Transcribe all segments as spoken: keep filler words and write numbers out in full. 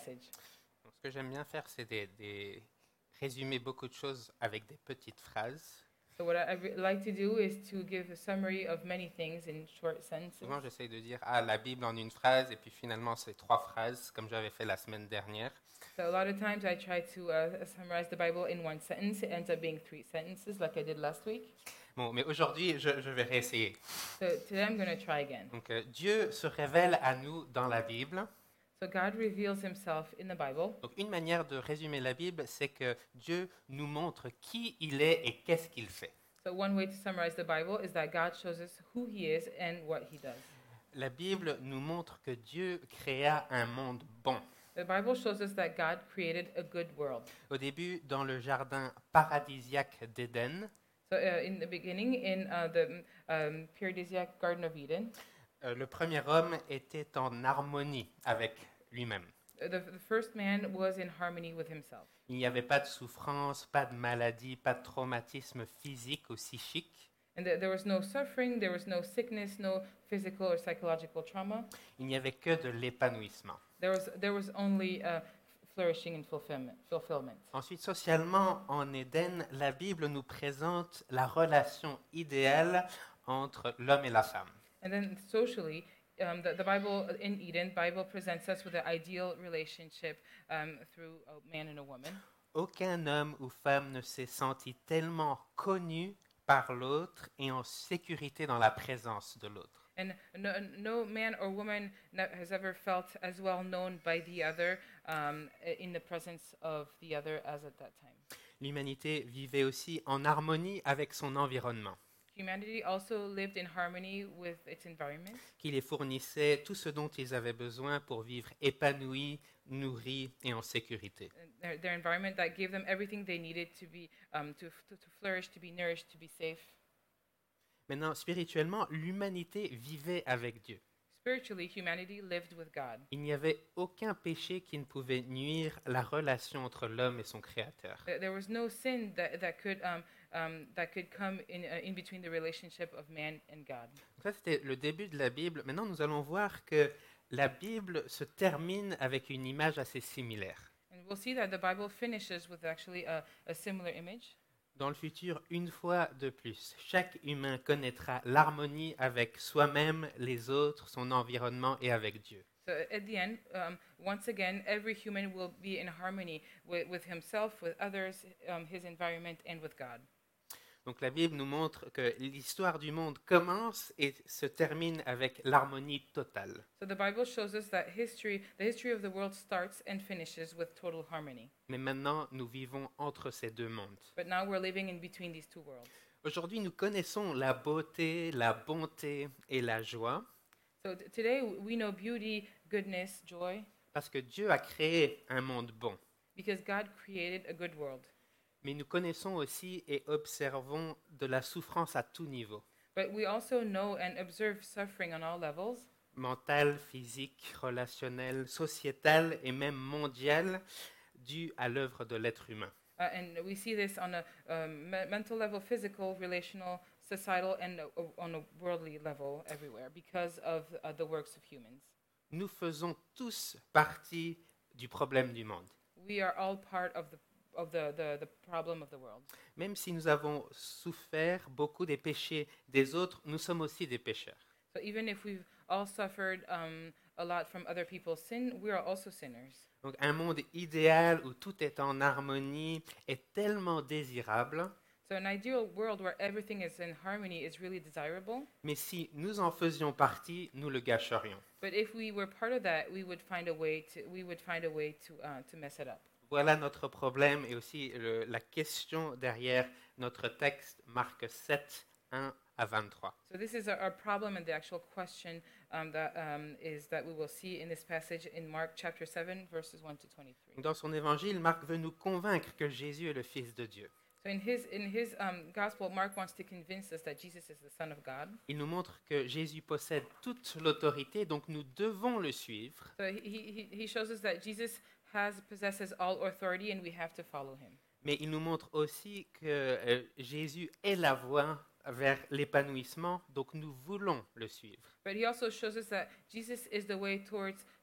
Donc, ce que j'aime bien faire, c'est des, des résumer beaucoup de choses avec des petites phrases. So what I re- like to do is to give a summary of many things in short sentences. Souvent, j'essaye de dire ah la Bible en une phrase, et puis finalement c'est trois phrases, comme j'avais fait la semaine dernière. So a lot of times I try to uh, summarize the Bible in one sentence. It ends up being three sentences, like I did last week. Bon, mais aujourd'hui, je, je vais réessayer. So today I'm going to try again. Donc, euh, Dieu se révèle à nous dans la Bible. So God reveals Himself in the Bible. Donc, une manière de résumer la Bible, c'est que Dieu nous montre qui il est et qu'est-ce qu'il fait. So one way to summarize the Bible is that God shows us who He is and what He does. La Bible nous montre que Dieu créa un monde bon. The Bible shows us that God created a good world. Au début, dans le jardin paradisiaque d'Éden, So uh, in the beginning, in uh, the um, paradisiac Garden of Eden, euh, le premier homme était en harmonie avec lui-même. uh, the, the first man was in harmony with himself. Il n'y avait pas de souffrance, pas de maladie, pas de traumatisme physique ou psychique. And th- there was no suffering, there was no sickness, no physical or psychological trauma. Il n'y avait que de l'épanouissement. There was, there was only uh, flourishing and fulfillment, fulfillment. Ensuite, socialement, en Éden, la Bible nous présente la relation idéale entre l'homme et la femme. And then socially, um, the, the Bible in Eden, Bible presents us with the ideal relationship um, through a man and a woman. Aucun homme ou femme ne s'est senti tellement connu par l'autre et en sécurité dans la présence de l'autre. And no, no man or woman no- has ever felt as well known by the other um, in the presence of the other as at that time. L'humanité vivait aussi en harmonie avec son environnement, Humanity also lived in harmony with its environment, qui les fournissait tout ce dont ils avaient besoin pour vivre épanouis, nourris et en sécurité. and their, their environment that gave them everything they needed to be um, to, to, to flourish, to be nourished, to be safe. Maintenant, spirituellement, l'humanité vivait avec Dieu. Spiritually, humanity lived with God. Il n'y avait aucun péché qui ne pouvait nuire à la relation entre l'homme et son Créateur. There there was no sin that, that could um, um, that could come in uh, in between the relationship of man and God. Donc ça, c'était le début de la Bible. Maintenant, nous allons voir que la Bible se termine avec une image assez similaire. And we'll see that the Bible finishes with actually a, a similar image. Dans le futur, une fois de plus, chaque humain connaîtra l'harmonie avec soi-même, les autres, son environnement et avec Dieu. So at the end, um, once again, every human will be in harmony with, with himself, with others, um, his environment, and with God. Donc la Bible nous montre que l'histoire du monde commence et se termine avec l'harmonie totale. So the Bible shows us that history, the history of the world starts and finishes with total harmony. Mais maintenant, nous vivons entre ces deux mondes. But now we're living in between these two worlds. Aujourd'hui, nous connaissons la beauté, la bonté et la joie So t- today we know beauty, goodness, joy, parce que Dieu a créé un monde bon. because God created a good world. Mais nous connaissons aussi et observons de la souffrance à tout niveau, But we also know and observe suffering on all levels, mentale, physique, relationnelle, sociétale et même mondiale, due à l'œuvre de l'être humain. uh, and we see this on a um, me- mental level, physical, relational, societal, and uh, on a worldly level everywhere because of uh, the works of humans. Nous faisons tous partie du problème du monde. We are all part of the of the, the, the problem of the world. Même si nous avons souffert beaucoup des péchés des autres, nous sommes aussi des pécheurs. So even if we've all suffered um, a lot from other people's sin, we are also sinners. Donc un monde idéal où tout est en harmonie est tellement désirable, So an ideal world where everything is in harmony is really desirable. mais si nous en faisions partie, nous le gâcherions. But if we were part of that, we would find a way to we would find a way to uh, to mess it up. Voilà notre problème et aussi le- la question derrière notre texte, Marc sept, un à vingt-trois. So this is our, our problem, and the actual question um, that um, is that we will see in this passage in Mark chapter seven, verses one to twenty-three. Dans son évangile, Marc veut nous convaincre que Jésus est le Fils de Dieu. So in his in his um, gospel, Mark wants to convince us that Jesus is the Son of God. Il nous montre que Jésus possède toute l'autorité, donc nous devons le suivre. So he, he he shows us that Jesus has possesses all authority, and we have to follow him. Mais il nous montre aussi que euh, Jésus est la voie vers l'épanouissement, donc nous voulons le suivre. But he also shows us that Jesus is the way towards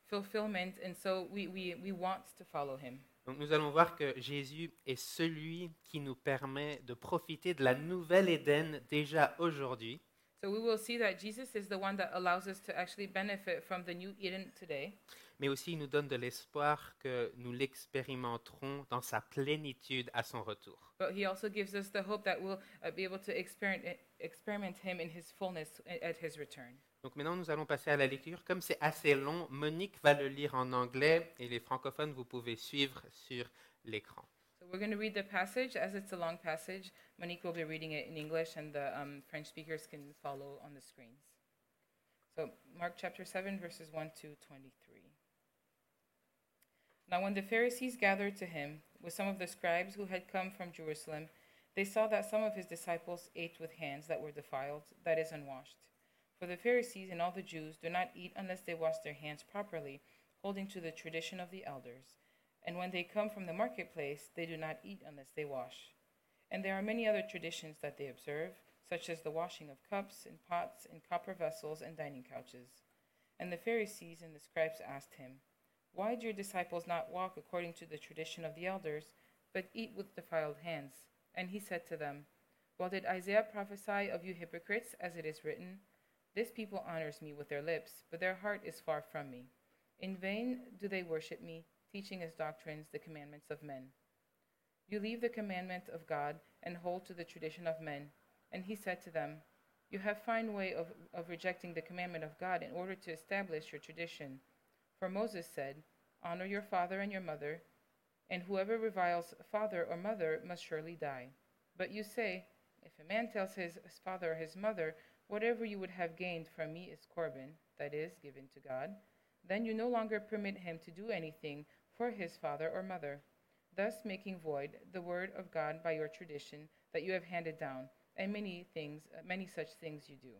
fulfillment, and so we, we, we want to follow him. Donc nous allons voir que Jésus est celui qui nous permet de profiter de la nouvelle Éden déjà aujourd'hui, So we will see that Jesus is the one that allows us to actually benefit from the new Eden today, mais aussi il nous donne de l'espoir que nous l'expérimenterons dans sa plénitude à son retour. but he also gives us the hope that we'll uh, be able to experiment, experiment him in his fullness a- at his return. Donc maintenant nous allons passer à la lecture. Comme c'est assez long, Monique va le lire en anglais et les francophones, vous pouvez suivre sur l'écran. So we're going to read the passage. As it's a long passage, Monique will be reading it in English, and the um, French speakers can follow on the screens. So Mark chapter seven, verses one to twenty-three. Now when the Pharisees gathered to him with some of the scribes who had come from Jerusalem, they saw that some of his disciples ate with hands that were defiled, that is, unwashed. For the Pharisees and all the Jews do not eat unless they wash their hands properly, holding to the tradition of the elders. And when they come from the marketplace, they do not eat unless they wash. And there are many other traditions that they observe, such as the washing of cups and pots and copper vessels and dining couches. And the Pharisees and the scribes asked him, "Why do your disciples not walk according to the tradition of the elders, but eat with defiled hands?" And he said to them, "Well, did Isaiah prophesy of you hypocrites, as it is written, 'This people honors me with their lips, but their heart is far from me. In vain do they worship me, teaching as doctrines the commandments of men.' You leave the commandment of God and hold to the tradition of men." And he said to them, "You have fine way of, of rejecting the commandment of God in order to establish your tradition. For Moses said, 'Honor your father and your mother,' and whoever reviles father or mother must surely die. But you say, 'If a man tells his, his father or his mother, whatever you would have gained from me is Corban, that is, given to God,' then you no longer permit him to do anything for his father or mother, thus making void the word of God by your tradition that you have handed down, and many things, uh, many such things you do."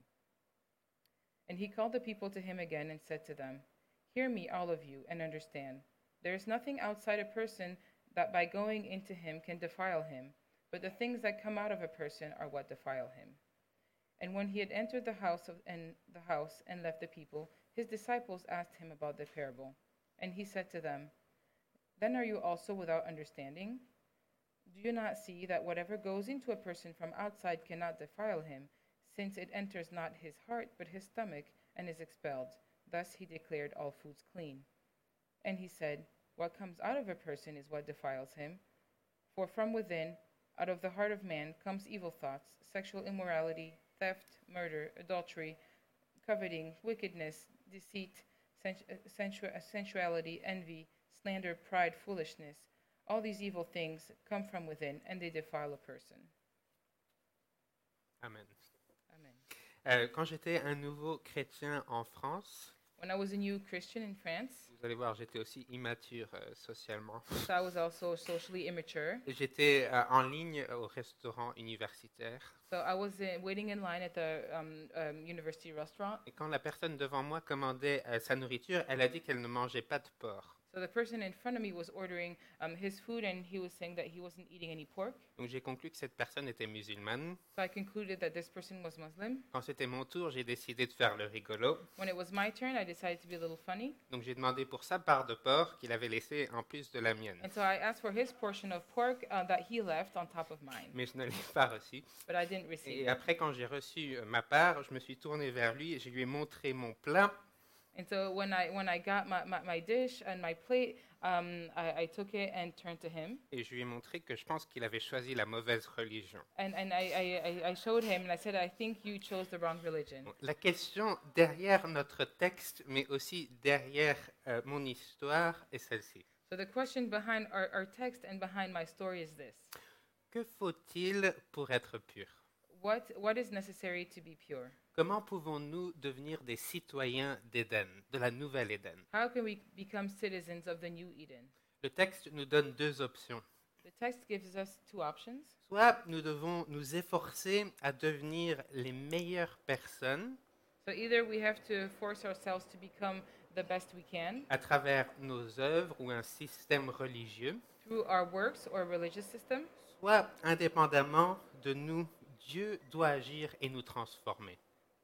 And he called the people to him again and said to them, "Hear me, all of you, and understand. There is nothing outside a person that by going into him can defile him, but the things that come out of a person are what defile him." And when he had entered the house of, and the house and left the people, his disciples asked him about the parable. And he said to them, "Then are you also without understanding? Do you not see that whatever goes into a person from outside cannot defile him, since it enters not his heart but his stomach and is expelled? Thus he declared all foods clean." And he said, "What comes out of a person is what defiles him. For from within, out of the heart of man, comes evil thoughts, sexual immorality, theft, murder, adultery, coveting, wickedness, deceit, sensu- sensu- sensuality, envy, slander, pride, foolishness. All these evil things come from within, and they defile a person." Amen. Amen. Euh, quand j'étais un nouveau chrétien en France, When I was a new Christian in France, vous allez voir, j'étais aussi immature euh, socialement. so I was also socially immature. J'étais euh, en ligne au restaurant universitaire. So I was uh, waiting in line at the um, um, university restaurant. Et quand la personne devant moi commandait euh, sa nourriture, elle a dit qu'elle ne mangeait pas de porc. So the person in front of me was ordering um, his food, and he was saying that he wasn't eating any pork. Donc j'ai conclu que cette personne était musulmane. So I concluded that this person was Muslim. Quand c'était mon tour, j'ai décidé de faire le rigolo. When it was my turn, I decided to be a little funny. Donc j'ai demandé pour sa part de porc qu'il avait laissé en plus de la mienne. And so I asked for his portion of pork uh, that he left on top of mine, Mais je ne l'ai pas reçu. but I didn't receive Et it. après, quand j'ai reçu euh, ma part, je me suis tourné vers lui et je lui ai montré mon plat. And so when I when I got my, my, my dish and my plate, um, I, I took it and turned to him, Et je lui ai montré que je pense qu'il avait choisi la mauvaise religion. and and I, I, I- I showed him, and I said, "I think you chose the wrong religion." Bon, la question derrière notre texte, mais aussi derrière euh, mon histoire, est celle-ci. So the question behind our, our text and behind my story is this: Que faut-il pour être pur? What what is necessary to be pure? Comment pouvons-nous devenir des citoyens d'Éden, de la nouvelle Éden? How can we become citizens of the new Eden? Le texte nous donne deux options. The text gives us two options. Soit nous devons nous efforcer à devenir les meilleures personnes So either we have to force ourselves to become the best we can à travers nos œuvres ou un système religieux, through our works or religious system, soit indépendamment de nous, Dieu doit agir et nous transformer.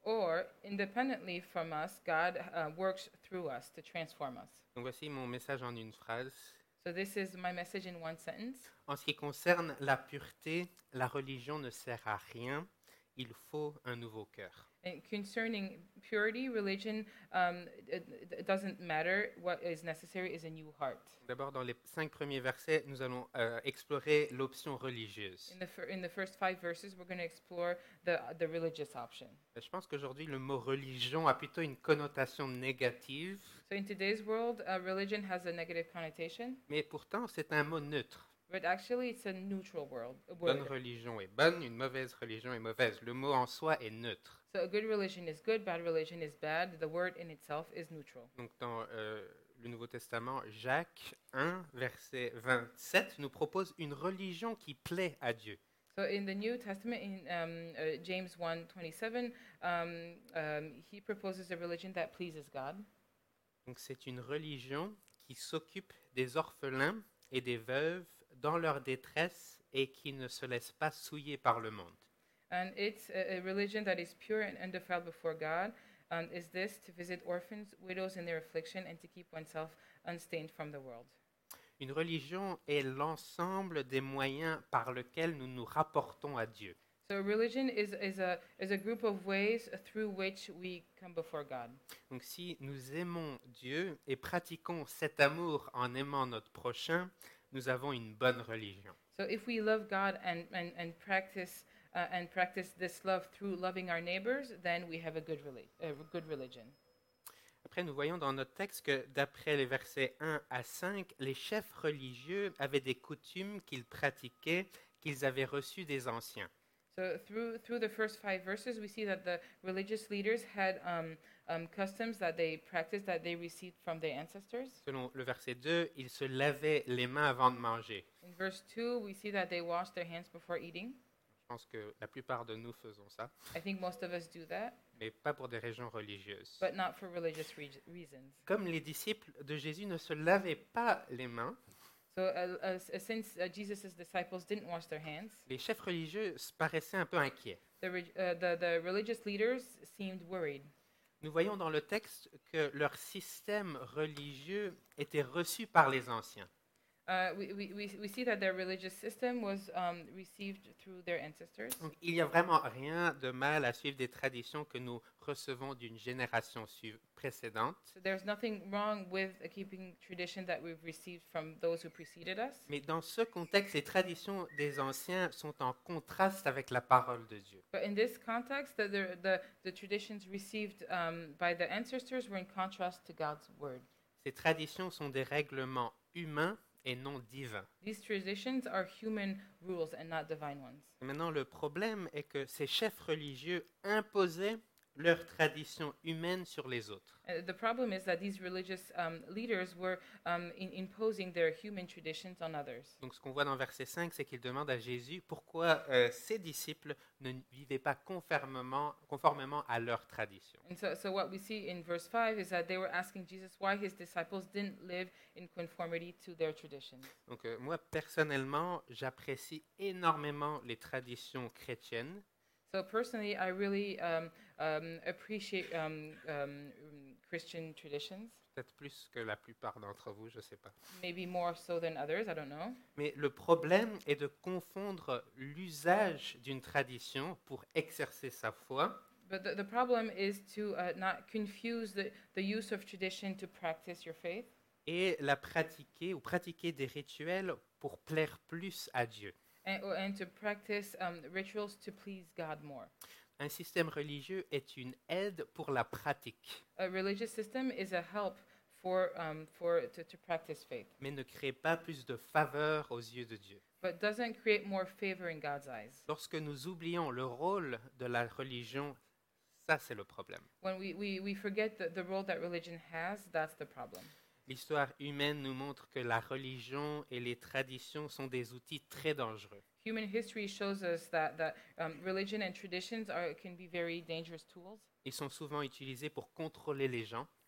or independently from us, God uh, works through us to transform us. Donc voici mon message en une phrase. So this is my message in one sentence. En ce qui concerne la pureté, la religion ne sert à rien. Il faut un nouveau cœur. And concerning purity, religion, um, it, it doesn't matter. What is necessary is a new heart. D'abord, dans les cinq premiers versets, nous allons euh, explorer l'option religieuse. In the fir- in the first five verses, we're going to explore the the religious option. Je pense qu'aujourd'hui, le mot religion a plutôt une connotation négative, So in today's world, uh, religion has a negative connotation, mais pourtant, c'est un mot neutre. but actually it's a neutral world. A Bonne word. religion est bonne, une mauvaise religion est mauvaise. Le mot en soi est neutre. So a good religion is good, bad religion is bad. The word in itself is neutral. Donc, dans euh, le Nouveau Testament, Jacques un, verset vingt-sept, nous propose une religion qui plaît à Dieu. So in the New Testament, in um, uh, James one twenty-seven, um, um, he proposes a religion that pleases God. Donc, c'est une religion qui s'occupe des orphelins et des veuves dans leur détresse et qui ne se laisse pas souiller par le monde. And it's a, a religion that is pure and undefiled before God. And is this to visit orphans, widows in their affliction, and to keep oneself unstained from the world. Une religion est l'ensemble des moyens par lesquels nous nous rapportons à Dieu. So religion is, is, a, is a group of ways through which we come before God. Donc si nous aimons Dieu et pratiquons cet amour en aimant notre prochain, nous avons une bonne religion. So if we love God and, and, and practice uh, and practice this love through loving our neighbors, then we have a good, reli- a good religion. Après, nous voyons dans notre texte que d'après les versets un à cinq, les chefs religieux avaient des coutumes qu'ils pratiquaient, qu'ils avaient reçues des anciens. So through through the first five verses, we see that the religious leaders had um, um, customs that they practiced that they received from their ancestors. Selon le verset deux, ils se lavaient les mains avant de manger. In verse two, we see that they washed their hands before eating. Je pense que la plupart de nous faisons ça, I think most of us do that, mais pas pour des raisons religieuses. but not for religious re- reasons. Comme les disciples de Jésus ne se lavaient pas les mains, So uh, uh, s- uh, since uh, Jesus' disciples didn't wash their hands, les chefs religieux se paraissaient un peu inquiets. the, re- uh, the, the religious leaders seemed worried. Nous voyons dans le texte que leur système religieux était reçu par les anciens. Uh, we, we, we we see that their religious system was um, received through their ancestors. Donc, il n'y a vraiment rien de mal à suivre des traditions que nous recevons d'une génération su- précédente, So there's nothing wrong with uh, keeping tradition that we've received from those who preceded us. mais dans ce contexte, les traditions des anciens sont en contraste avec la parole de Dieu. But in this context, the, the, the, the traditions received um, by the ancestors were in contrast to God's word. Ces traditions sont des règlements humains et non divins. These traditions are human rules and not divine ones. Et maintenant, le problème est que ces chefs religieux imposaient leurs traditions humaines sur les autres. Uh, the problem is that these religious um, leaders were um, in imposing their human traditions on others. Donc, ce qu'on voit dans verset cinq, c'est qu'il demande à Jésus pourquoi euh, ses disciples ne vivaient pas conformément, conformément à leurs traditions. And so, so what we see in verse five is that they were asking Jesus why his disciples didn't live in conformity to their traditions. Donc, euh, moi, personnellement, j'apprécie énormément les traditions chrétiennes. So personally, I really um, um, appreciate um, um, Christian traditions, Peut-être plus que la plupart d'entre vous, je ne sais pas. maybe more so than others, I don't know. Mais le problème est de confondre l'usage d'une tradition pour exercer sa foi But the, the problem is to uh, not confuse the, the use of tradition to practice your faith et la pratiquer ou pratiquer des rituels pour plaire plus à Dieu. and, or- and to practice um, rituals to please God more. Un système religieux est une aide pour la pratique, A religious system is a help for, um, for to, to practice faith, mais ne crée pas plus de faveur aux yeux de Dieu. but doesn't create more favor in God's eyes. Lorsque nous oublions le rôle de la religion, ça c'est le problème. When we, we, we forget the, the role that religion has, that's the problem. L'histoire humaine nous montre que la religion et les traditions sont des outils très dangereux. Human history shows us that, that um, religion and traditions are, can be very dangerous tools. Ils sont souvent utilisés pour contrôler les gens,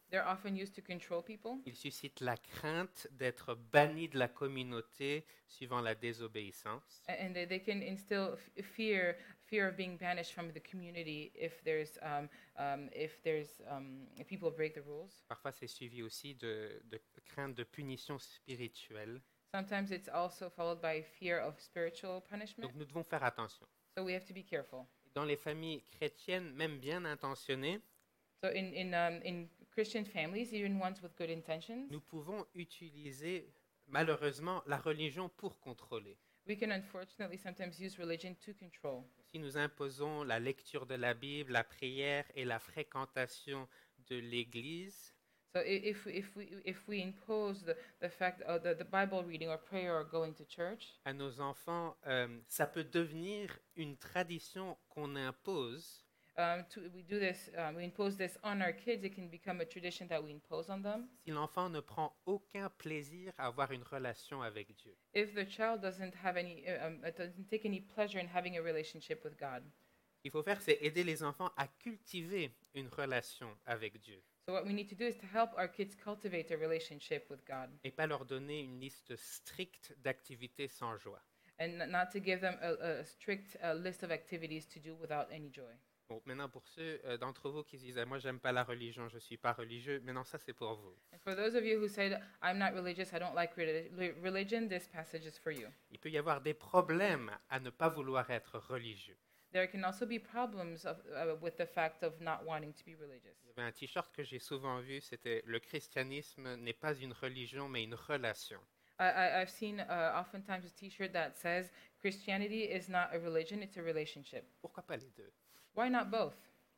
They're often used to control people. Ils suscitent la crainte d'être bannis de la communauté suivant la désobéissance. a- And they, they can instill f- fear, fear of being banished from the community if there's, um, um, if there's, um, if people break the rules. Parfois, c'est suivi aussi de, de crainte de punition spirituelle. Sometimes it's also followed by fear of spiritual punishment. Donc, nous devons faire attention. So we have to be careful. Dans les familles chrétiennes, même bien intentionnées, So in in um, in Christian families, even ones with good intentions, nous pouvons utiliser malheureusement la religion pour contrôler. we can unfortunately sometimes use religion to control. Si nous imposons la lecture de la Bible, la prière et la fréquentation de l'Église, So i- if we- if we if we impose the the fact of the, the Bible reading or prayer or going to church, à nos enfants, euh, ça peut devenir une tradition qu'on impose um, to, we do this, um, we impose this on our kids. It can become a tradition that we impose on them. si l'enfant ne prend aucun plaisir à avoir une relation avec Dieu. If the child doesn't have any, uh, um, uh, doesn't take any pleasure in having a relationship with God. Ce qu'il faut faire, c'est aider les enfants à cultiver une relation avec Dieu So what we need to do is to help our kids cultivate a relationship with God, et pas leur donner une liste stricte d'activités sans joie. and n- not to give them a, a strict uh, list of activities to do without any joy. Bon, maintenant pour ceux euh, d'entre vous qui disent ah, moi j'aime pas la religion, je suis pas religieux, maintenant ça c'est pour vous. And for those of you who say, I'm not religious, I don't like reli- li- religion, this passage is for you. Il peut y avoir des problèmes à ne pas vouloir être religieux. There can also be problems of, uh, with the fact of not wanting to be religious. Il y avait un t-shirt que j'ai souvent vu, c'était le christianisme n'est pas une religion mais une relation. I, I, I've seen uh, oftentimes a T-shirt that says Christianity is not a religion; it's a relationship. Pourquoi pas les deux? Why not both?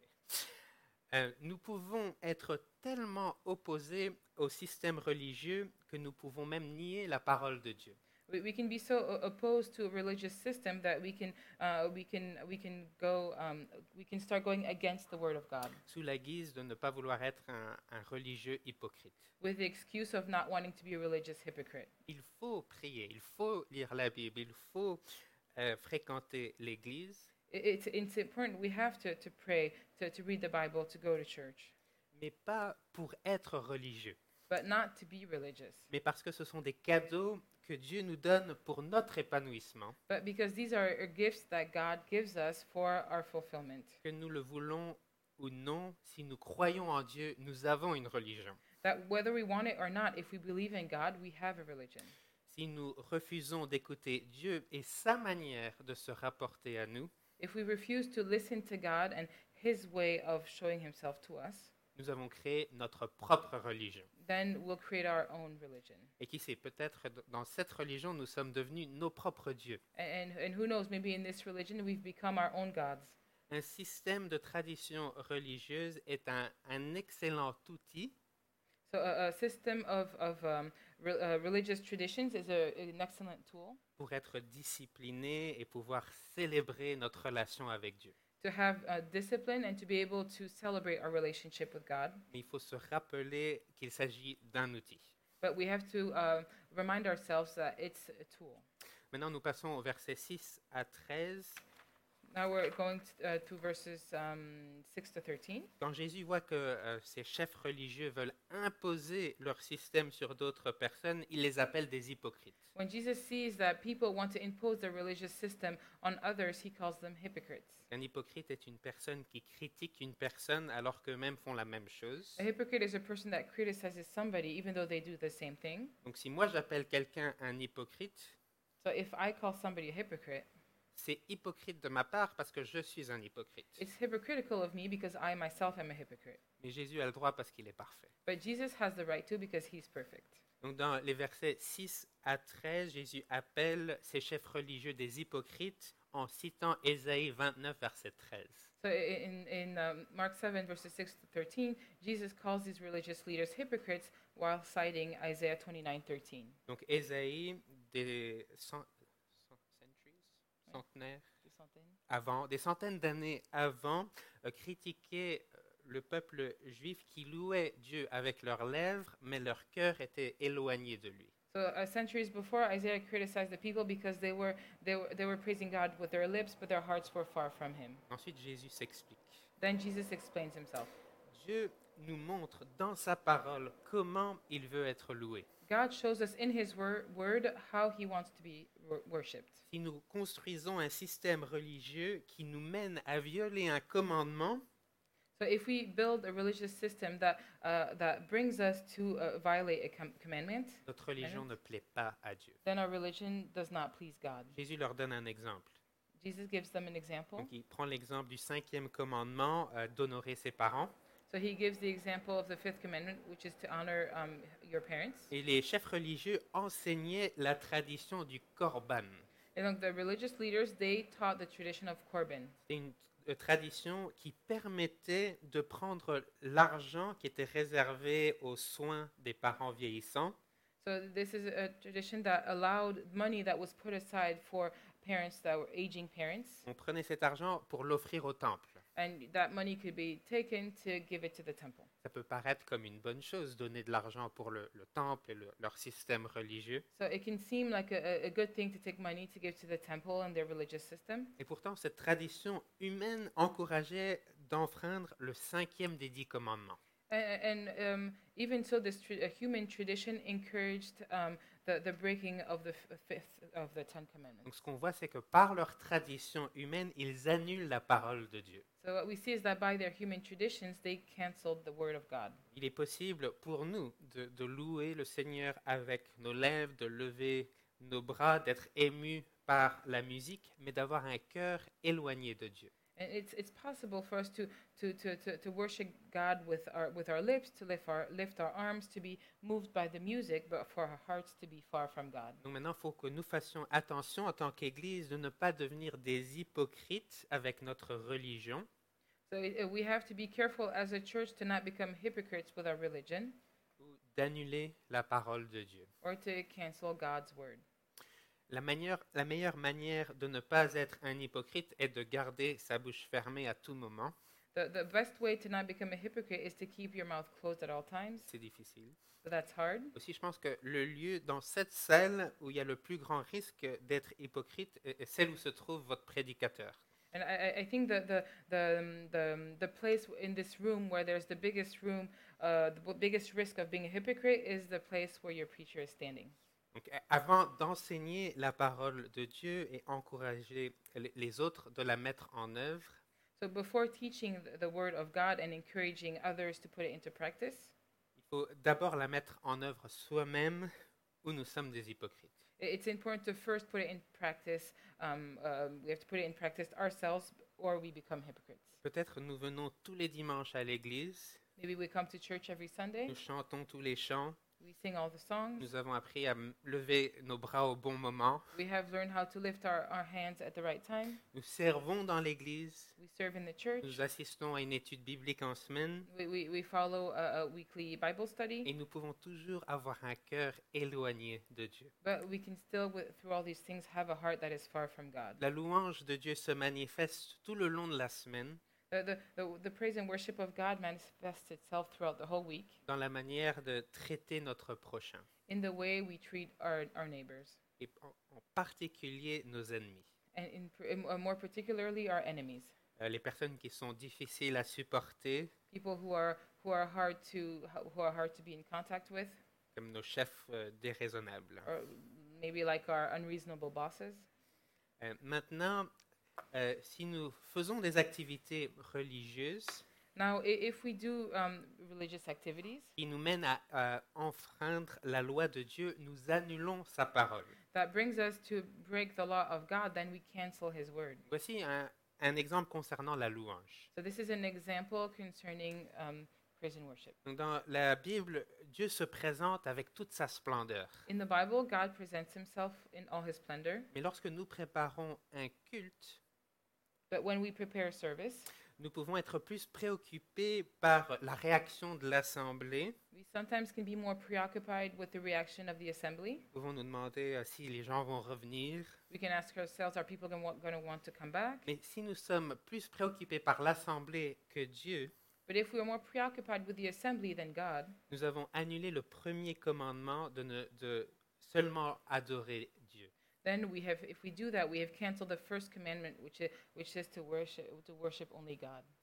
Euh, nous pouvons être tellement opposés au système religieux que nous pouvons même nier la parole de Dieu. We, we can be so o- opposed to a religious system that we can uh, we can we can go um, we can start going against the word of God Sous la guise de ne pas vouloir être un, un religieux hypocrite. with the excuse of not wanting to be a religious hypocrite. Il faut prier, il faut lire la Bible, il faut euh, fréquenter l'Église, I- It's it's important. We have to, to pray, to, to read the Bible, to go to church, mais pas pour être religieux, but not to be religious. mais parce que ce sont des cadeaux que Dieu nous donne pour notre épanouissement, But because these are are gifts that God gives us for our fulfillment. que nous le voulons ou non, si nous croyons en Dieu, nous avons une religion. That whether we want it or not, if we believe in God, we have a religion. Si nous refusons d'écouter Dieu et sa manière de se rapporter à nous, If we refuse to listen to God and His way of showing Himself to us, nous avons créé notre propre religion. then we'll create our own religion. Et qui sait, peut-être d- dans cette religion, nous sommes devenus nos propres dieux. And, and who knows, maybe in this religion we've become our own gods. Un système de tradition religieuse est un, un excellent outil So a, a system of, of um, re, uh, religious traditions is a, an excellent tool pour être discipliné et pouvoir célébrer notre relation avec Dieu. to have uh, discipline and to be able to celebrate our relationship with God. Mais il faut se rappeler qu'il s'agit d'un outil. But we have to uh, remind ourselves that it's a tool. Maintenant, nous passons au verset six à treize. Now we're going to, uh, to verses um, six to thirteen. Quand Jésus voit que euh, ces chefs religieux veulent imposer leur système sur d'autres personnes, il les appelle des hypocrites. When Jesus sees that people want to impose their religious system on others, he calls them hypocrites. Un hypocrite est une personne qui critique une personne alors qu'eux-mêmes font la même chose. A hypocrite is a person that criticizes somebody even though they do the same thing. Donc si moi j'appelle quelqu'un un hypocrite, So if I call somebody a hypocrite, c'est hypocrite de ma part parce que je suis un hypocrite. it's hypocritical of me because I myself am a hypocrite. Mais Jésus a le droit parce qu'il est parfait. But Jesus has the right to because he's perfect. Donc dans les versets six à treize, Jésus appelle ces chefs religieux des hypocrites en citant Ésaïe vingt-neuf, verset treize. So i- in, in um, Mark seven, verses six to thirteen, Jesus calls these religious leaders hypocrites while citing Isaiah twenty-nine thirteen. Donc Ésaïe, des cent- cent- centuries, centenaires avant, des centaines d'années avant, euh, critiquait euh, le peuple juif qui louait Dieu avec leurs lèvres, mais leur cœur était éloigné de lui. So uh, centuries before, Isaiah criticized the people because they were, they, were, they were praising God with their lips, but their hearts were far from him. Ensuite, Jésus s'explique. Then Jesus explains himself. Dieu nous montre dans sa parole comment il veut être loué. God shows us in His wor- word how He wants to be wor- worshipped. Si nous construisons un système religieux qui nous mène à violer un commandement, So if we build a religious system that uh, that brings us to uh, violate a com- commandment, notre religion ne plaît pas à Dieu. then our religion does not please God. Jésus leur donne un exemple. Jesus gives them an example. Donc, il prend l'exemple du cinquième commandement euh, d'honorer ses parents. So he gives the example of the fifth commandment, which is to honor um, your parents. Et les chefs religieux enseignaient la tradition du korban. And donc the religious leaders, they taught the tradition of Korban. C'est une euh, tradition qui permettait de prendre l'argent qui était réservé aux soins des parents vieillissants So this is a tradition that allowed money that was put aside for parents that were aging parents, on prenait cet argent pour l'offrir au temple. and that money could be taken to give it to the temple. Ça peut paraître comme une bonne chose, donner de l'argent pour le, le temple et le- leur système religieux. So it can seem like a, a good thing to take money to give to the temple and their religious system. Et pourtant, cette tradition humaine encourageait d'enfreindre le cinquième des dix commandements. And, and um, even so, this tra- a human tradition encouraged um, the, the breaking of the f- fifth of the Ten Commandments. Donc ce qu'on voit, c'est que par leur tradition humaine, ils annulent la parole de Dieu. So what we see is that by their human traditions, they canceled the word of God. Il est possible pour nous de, de louer le Seigneur avec nos lèvres, de lever nos bras, d'être émus par la musique, mais d'avoir un cœur éloigné de Dieu. And it's it's possible for us to to, to, to, to worship God with our with our lips, to lift our lift our arms, to be moved by the music, but for our hearts to be far from God. Donc maintenant, il faut que nous fassions attention en tant qu'Église de ne pas devenir des hypocrites avec notre religion, So uh, we have to be careful as a church to not become hypocrites with our religion ou d'annuler la parole de Dieu. or to cancel God's word. La, manière, la meilleure manière de ne pas être un hypocrite est de garder sa bouche fermée à tout moment. The the best way to not become a hypocrite is to keep your mouth closed at all times. C'est difficile. So that's hard. Aussi, je pense que le lieu dans cette salle où il y a le plus grand risque d'être hypocrite est est celle où se trouve votre prédicateur. And I, I- I think that the the um, the um, the place in this room where there's the biggest room, uh, the b- biggest risk of being a hypocrite is the place where your preacher is standing. Donc, a- avant d'enseigner la parole de Dieu et encourager les- les autres de la mettre en œuvre, So before teaching th- the word of God and encouraging others to put it into practice, il faut d'abord la mettre en œuvre soi-même où nous sommes des hypocrites. i- it's important to first put it in practice. Um, um, we have to put it in practice ourselves, or we become hypocrites. Peut-être nous venons tous les dimanches à l'église, Maybe we come to church every Sunday, nous chantons tous les chants, we sing all the songs, nous avons appris à m- lever nos bras au bon moment, we have learned how to lift our, our hands at the right time, nous servons dans l'église, we serve in the church, nous assistons à une étude biblique en semaine, we, we, we follow a, a weekly Bible study. et nous pouvons toujours avoir un cœur éloigné de Dieu. But we can still, wi- through all these things, have a heart that is far from God. La louange de Dieu se manifeste tout le long de la semaine The, the, the, the praise and worship of God manifests itself throughout the whole week dans la manière de traiter notre prochain, in the way we treat our, our neighbors, et en, en particulier nos ennemis. and in, pr- in, uh, more particularly our enemies, Euh, les personnes qui sont difficiles à supporter, people who are who are hard to who are hard to be in contact with, comme nos chefs euh, déraisonnables. or maybe like our unreasonable bosses. Euh, maintenant, euh, si nous faisons des activités religieuses Now, i- if we do um, religious activities qui nous mènent à, à enfreindre la loi de Dieu, nous annulons sa parole. that brings us to break the law of God, then we cancel His word. Voici un, un exemple concernant la louange. So this is an example concerning um, praise and worship. Donc, dans la Bible, Dieu se présente avec toute sa splendeur. In the Bible, God presents Himself in all His splendor. Mais lorsque nous préparons un culte, But when we prepare service, nous pouvons être plus préoccupés par la réaction de l'assemblée. we sometimes can be more preoccupied with the reaction of the assembly. Nous pouvons nous demander euh, si les gens vont revenir. We can ask ourselves, are people going to want to come back? Mais si nous sommes plus préoccupés par l'assemblée que Dieu, But if we are more preoccupied with the assembly than God, nous avons annulé le premier commandement de, ne- de seulement adorer Dieu. then we have, if we do that, we have canceled the first commandment, which is, which is to worship to worship only God.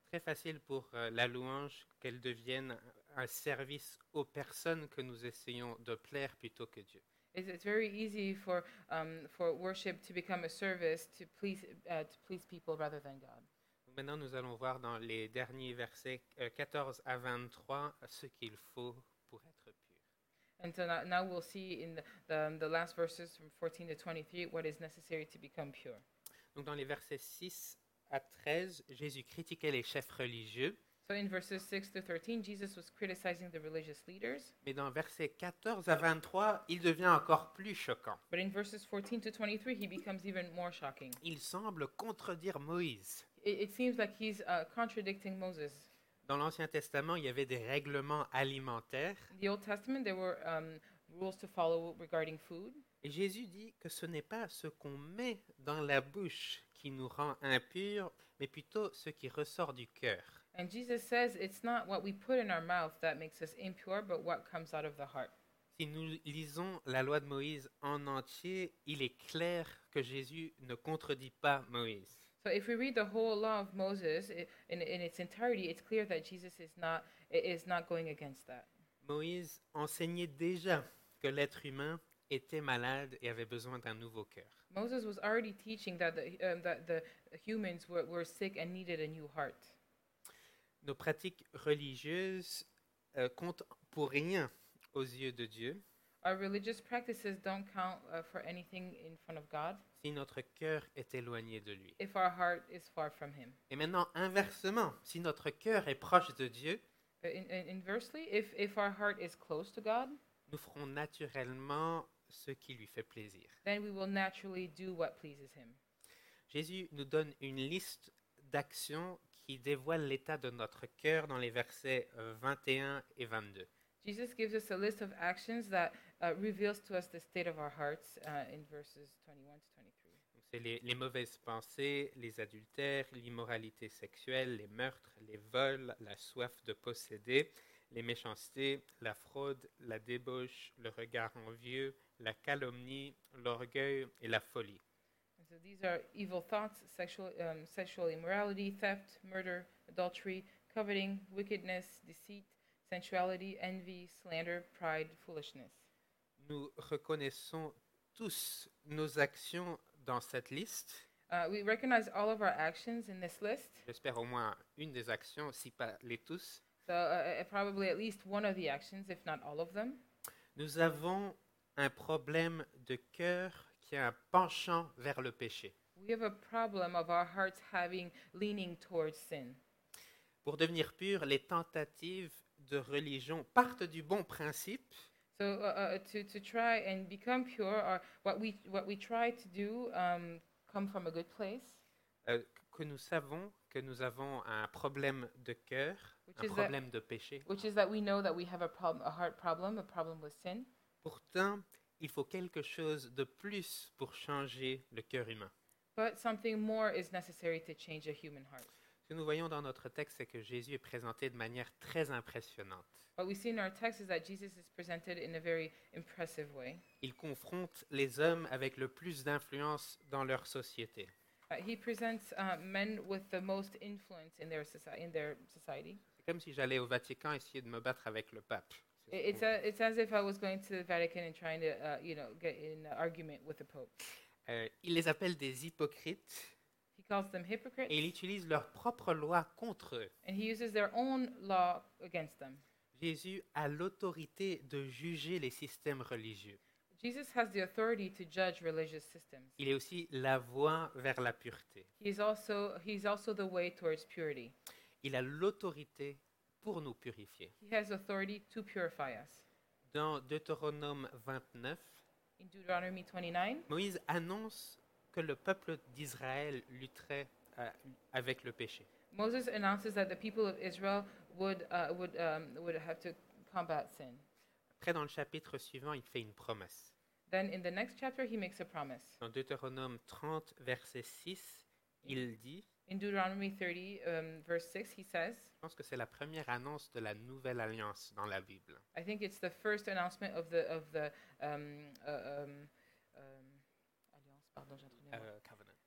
Très facile pour euh, la louange qu'elle devienne un service aux personnes que nous essayons de plaire plutôt que Dieu. It's, it's very easy for um, for worship to become a service to please uh, to please people rather than God. Donc maintenant, nous allons voir dans les derniers versets euh, quatorze à vingt-trois ce qu'il faut pour être pur. And so now, now we'll see in the, the the last verses from fourteen to twenty-three what is necessary to become pure. Donc dans les versets six à treize, Jésus critiquait les chefs religieux. So in verses six to thirteen, Jesus was criticizing the religious leaders. Mais dans versets quatorze à vingt-trois, il devient encore plus choquant. But in verses fourteen to twenty-three, he becomes even more shocking. Il semble contredire Moïse. It, it seems like he's uh, contradicting Moses. Dans l'Ancien Testament, il y avait des règlements alimentaires. In the Old Testament, there were um, rules to follow regarding food. Et Jésus dit que ce n'est pas ce qu'on met dans la bouche qui nous rend impurs, mais plutôt ce qui ressort du cœur. And Jesus says it's not what we put in our mouth that makes us impure, but what comes out of the heart. Si nous lisons la loi de Moïse en entier, il est clair que Jésus ne contredit pas Moïse. So if we read the whole law of Moses i- in, in its entirety, it's clear that Jesus is not is not going against that. Moïse enseignait déjà que l'être humain était malade et avait besoin d'un nouveau cœur. Moses was already teaching that the um, that the humans were, were sick and needed a new heart. Nos pratiques religieuses euh, comptent pour rien aux yeux de Dieu Our religious practices don't count uh, for anything in front of God si notre cœur est éloigné de lui. if our heart is far from Him. Et maintenant, inversement, si notre cœur est proche de Dieu, Uh, In, in, inversely, if if our heart is close to God, nous ferons naturellement ce qui lui fait plaisir. then we will naturally do what pleases Him. Jésus nous donne une liste d'actions qui dévoilent l'état de notre cœur dans les versets euh, vingt et un et vingt-deux. Jesus gives us a list of actions that uh, reveals to us the state of our hearts uh, in verses twenty-one to twenty-three. Donc, c'est les, les mauvaises pensées, les adultères, l'immoralité sexuelle, les meurtres, les vols, la soif de posséder, les méchancetés, la fraude, la débauche, le regard envieux, la calomnie, l'orgueil et la folie. And so these are evil thoughts, sexual um, sexual immorality, theft, murder, adultery, coveting, wickedness, deceit, sensuality, envy, slander, pride, foolishness. Nous reconnaissons tous nos actions dans cette liste. Uh, we recognize all of our actions in this list. J'espère au moins une des actions, si pas les tous. So uh, uh, probably at least one of the actions, if not all of them. Nous avons un problème de cœur qui a un penchant vers le péché. We have a problem of our hearts having leaning towards sin. Pour devenir pur, les tentatives de religion partent du bon principe, So uh, uh, to, to try and become pure, or what we what we try to do, um, come from a good place, euh, que nous savons que nous avons un problème de cœur, Which un is that- problème de péché. which is that we know that we have a problem, a heart problem, a problem with sin. Pourtant, il faut quelque chose de plus pour changer le cœur humain. But something more is necessary to change a human heart. Ce que nous voyons dans notre texte, c'est que Jésus est présenté de manière très impressionnante. What we see in our text is that Jesus is presented in a very impressive way. Il confronte les hommes avec le plus d'influence dans leur société. Uh, he presents uh, men with the most influence in their society. In their society, C'est comme si j'allais au Vatican essayer de me battre avec le pape. C'est I- it's a, it's as if I was going to the Vatican and trying to, uh, you know, get in an argument with the Pope. Euh, il les appelle des hypocrites He calls them hypocrites, et il utilise leur propre loi contre eux. and he uses their own law against them. Jésus a l'autorité de juger les systèmes religieux. Jesus has the authority to judge religious systems. Il est aussi la voie vers la pureté. He is also he's also the way towards purity. Il a l'autorité pour nous purifier. He has authority to purify us. Dans Deutéronome vingt-neuf, In Deuteronomy twenty-nine, Moïse annonce que le peuple d'Israël lutterait euh, avec le péché. Moses announces that the people of Israel would uh, would um, would have to combat sin. Après, dans le chapitre suivant, il fait une promesse. Then in the next chapter, he makes a promise. Dans Deutéronome trente, verset six, il dit, In Deuteronomy thirty, um, verse six, he says, je pense que c'est la première annonce de la nouvelle alliance dans la Bible. I think it's the first announcement of the of the um, uh, um, um, alliance. Pardon, j'ai entendu un mot. Euh, covenant.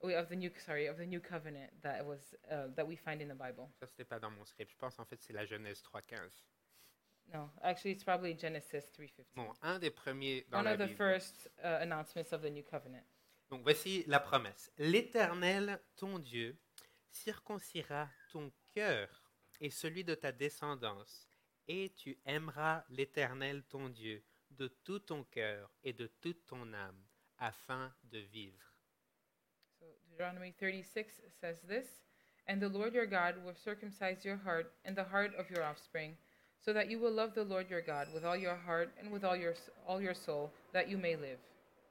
oh, of the new sorry of the new covenant that was uh, that we find in the Bible. Ça, c'était pas dans mon script. Je pense en fait c'est la Genèse trois quinze. No, actually, it's probably Genesis three fifteen. Bon, un des premiers dans One la of the Bible. first uh, announcements of the new covenant. Donc voici la promesse. L'Éternel, ton Dieu, circoncira ton cœur et celui de ta descendance, et tu aimeras l'Éternel, ton Dieu, de tout ton cœur et de toute ton âme, afin de vivre. So Deuteronomy thirty-six says this, and the Lord your God will circumcise your heart and the heart of your offspring, so that you will love the Lord your God with all your heart and with all your all your soul, that you may live.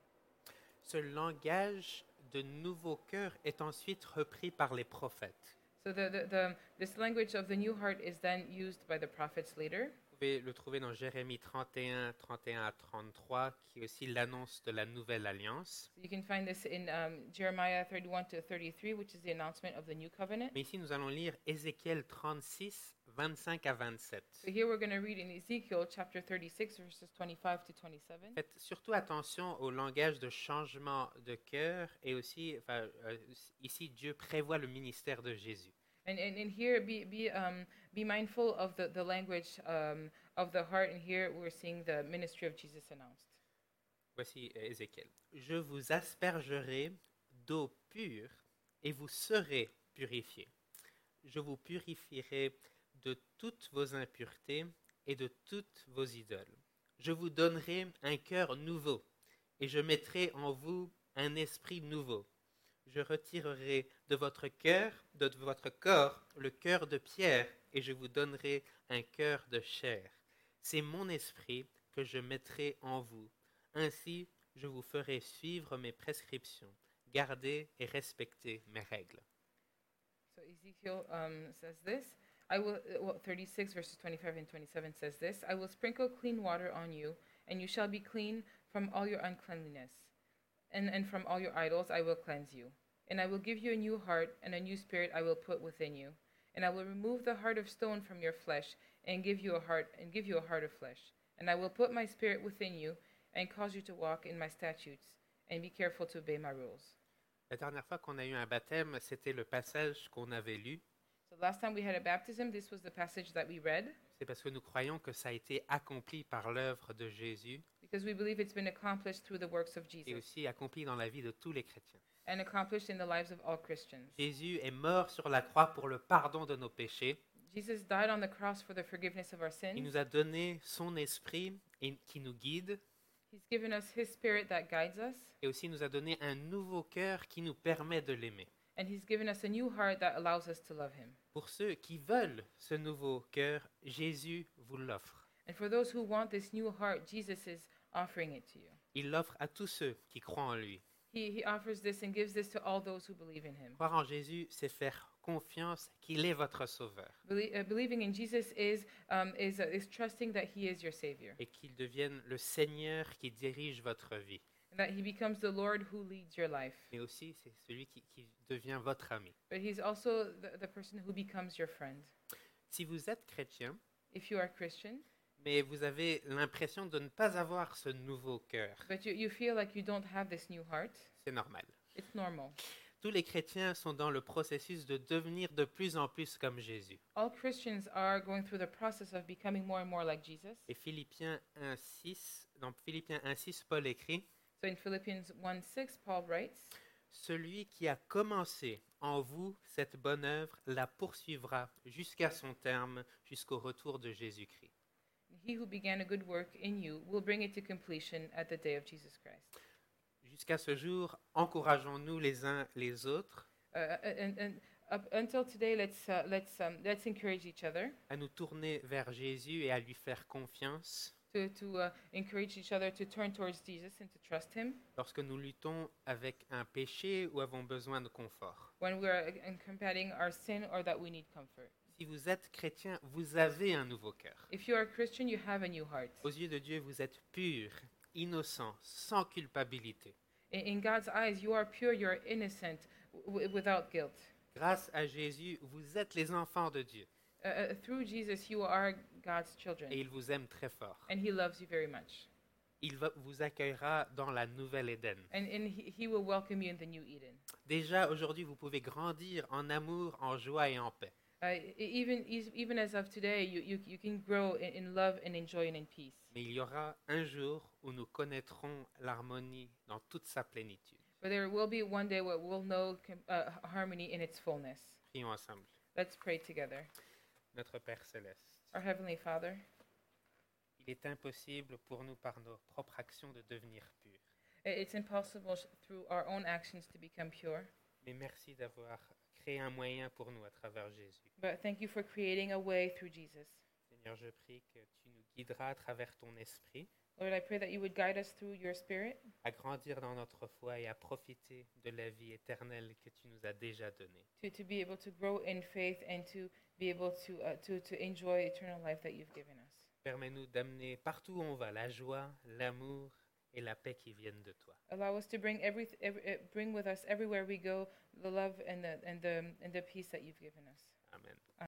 Ce langage de nouveau cœur est ensuite repris par les prophètes. So the, the, the this language of the new heart is then used by the prophets later. Vous pouvez le trouver dans Jérémie trente et un, trente et un à trente-trois, qui est aussi l'annonce de la nouvelle alliance. So you can find this in um, Jeremiah thirty-one to thirty-three, which is the announcement of the new covenant. Mais ici, nous allons lire Ézéchiel trente-six, vingt-cinq à vingt-sept. So here we're going to read in Ezekiel chapter thirty-six, verses twenty-five to twenty-seven. Faites surtout attention au langage de changement de cœur et aussi, enfin, euh, ici, Dieu prévoit le ministère de Jésus. And, and, and here, be be um, be mindful of the, the language um, of the heart. And here we're seeing the ministry of Jesus announced. Voici euh, Ézéchiel. Je vous aspergerai d'eau pure et vous serez purifiés. Je vous purifierai de toutes vos impuretés et de toutes vos idoles. Je vous donnerai un cœur nouveau et je mettrai en vous un esprit nouveau. Je retirerai de votre cœur, de votre corps, le cœur de pierre, et je vous donnerai un cœur de chair. C'est mon esprit que je mettrai en vous. Ainsi, je vous ferai suivre mes prescriptions, garder et respecter mes règles. So Ezekiel um, says this. I will uh, well, thirty-six verses twenty-five and twenty-seven says this. I will sprinkle clean water on you, and you shall be clean from all your uncleanliness. And, and from all your idols I will cleanse you. And I will give you a new heart, and a new spirit I will put within you. And I will remove the heart of stone from your flesh, and give you a heart and give you a heart of flesh. And I will put my spirit within you, and cause you to walk in my statutes, and be careful to obey my rules. La dernière fois qu'on a eu un baptême, c'était le passage qu'on avait lu. So last time we had a baptism, this was the passage that we read. C'est parce que nous croyons que ça a été accompli par l'œuvre de Jésus Because we believe it's been accomplished through the works of et Jesus aussi accompli dans la vie de tous les chrétiens. and accomplished in the lives of all Christians. Jésus est mort sur la croix pour le pardon de nos péchés. Jesus died on the cross for the forgiveness of our Il sins. nous a donné son esprit et- qui nous guide He's given us his spirit that guides us, et aussi nous a donné un nouveau cœur qui nous permet de l'aimer. and he's given us a new heart that allows us to love him. Pour ceux qui veulent ce nouveau cœur, Jésus vous l'offre. And for those who want this new heart, Jesus is offering it to you. Il l'offre à tous ceux qui croient en lui. He, he offers this and gives this to all those who believe in him. Croire en Jésus, c'est faire confiance qu'il est votre sauveur Belie- uh, believing in Jesus is, um, is, uh, is trusting that he is your Savior, et qu'il devienne le Seigneur qui dirige votre vie. and that he becomes the Lord who leads your life. Mais aussi, c'est celui qui, qui devient votre ami. But he's also the, the person who becomes your friend. Si vous êtes chrétien, If you are Christian, mais vous avez l'impression de ne pas avoir ce nouveau cœur, but you, you feel like you don't have this new heart, c'est normal. it's normal. Tous les chrétiens sont dans le processus de devenir de plus en plus comme Jésus. All Christians are going through the process of becoming more and more like Jesus. Et Philippiens un six, dans Philippiens un six, Paul écrit So in Philippians one six, Paul writes, Celui qui a commencé en vous cette bonne œuvre la poursuivra jusqu'à son terme, jusqu'au retour de Jésus-Christ. He who began a good work in you will bring it to completion at the day of Jesus Christ. Jusqu'à ce jour, encourageons-nous les uns les autres Uh, and, and up until today, let's, uh, let's, um, let's encourage each other à nous tourner vers Jésus et à lui faire confiance to, to uh, encourage each other to turn towards Jesus and to trust him lorsque nous luttons avec un péché ou avons besoin de confort. when we are uh, combating our sin or that we need comfort. Si vous êtes chrétien, vous avez un nouveau cœur. If you are a Christian, you have a new heart. Aux yeux de Dieu, vous êtes pur, innocent, sans culpabilité. In, in God's eyes, you are pure, you are innocent, w- without guilt. Grâce à Jésus, vous êtes les enfants de Dieu Uh, uh, through Jesus, you are God's children, et il vous aime très fort. and he loves you very much. il va, vous accueillera dans la nouvelle Éden. And, and he, he will welcome you in the new Eden. Déjà, aujourd'hui, vous pouvez grandir en amour, en joie et en paix. Uh, e- even, is- even as of today, you, you, you can grow in, in love and in joy and in peace. Mais il y aura un jour où nous connaîtrons l'harmonie dans toute sa plénitude. But there will be one day where we'll know com- uh, harmony in its fullness. Prions ensemble. Let's pray together. Notre Père céleste, Our Heavenly Father, il est impossible pour nous, par nos propres actions, de devenir purs. i- it's impossible sh- through our own actions to become pure. Mais merci d'avoir créé un moyen pour nous à travers Jésus. But thank you for creating a way through Jesus. Seigneur, je prie que tu nous guideras à travers ton esprit Lord, I pray that you would guide us through your Spirit à grandir dans notre foi et à profiter de la vie éternelle que tu nous as déjà donnée. to, to be able to grow in faith and to be able to, uh, to, to enjoy eternal life that you've given us. Permets-nous d'amener partout où on va la joie, l'amour et la paix qui viennent de toi. Allow us to bring every, every uh, bring with us everywhere we go the love and the and the and the peace that you've given us. Amen.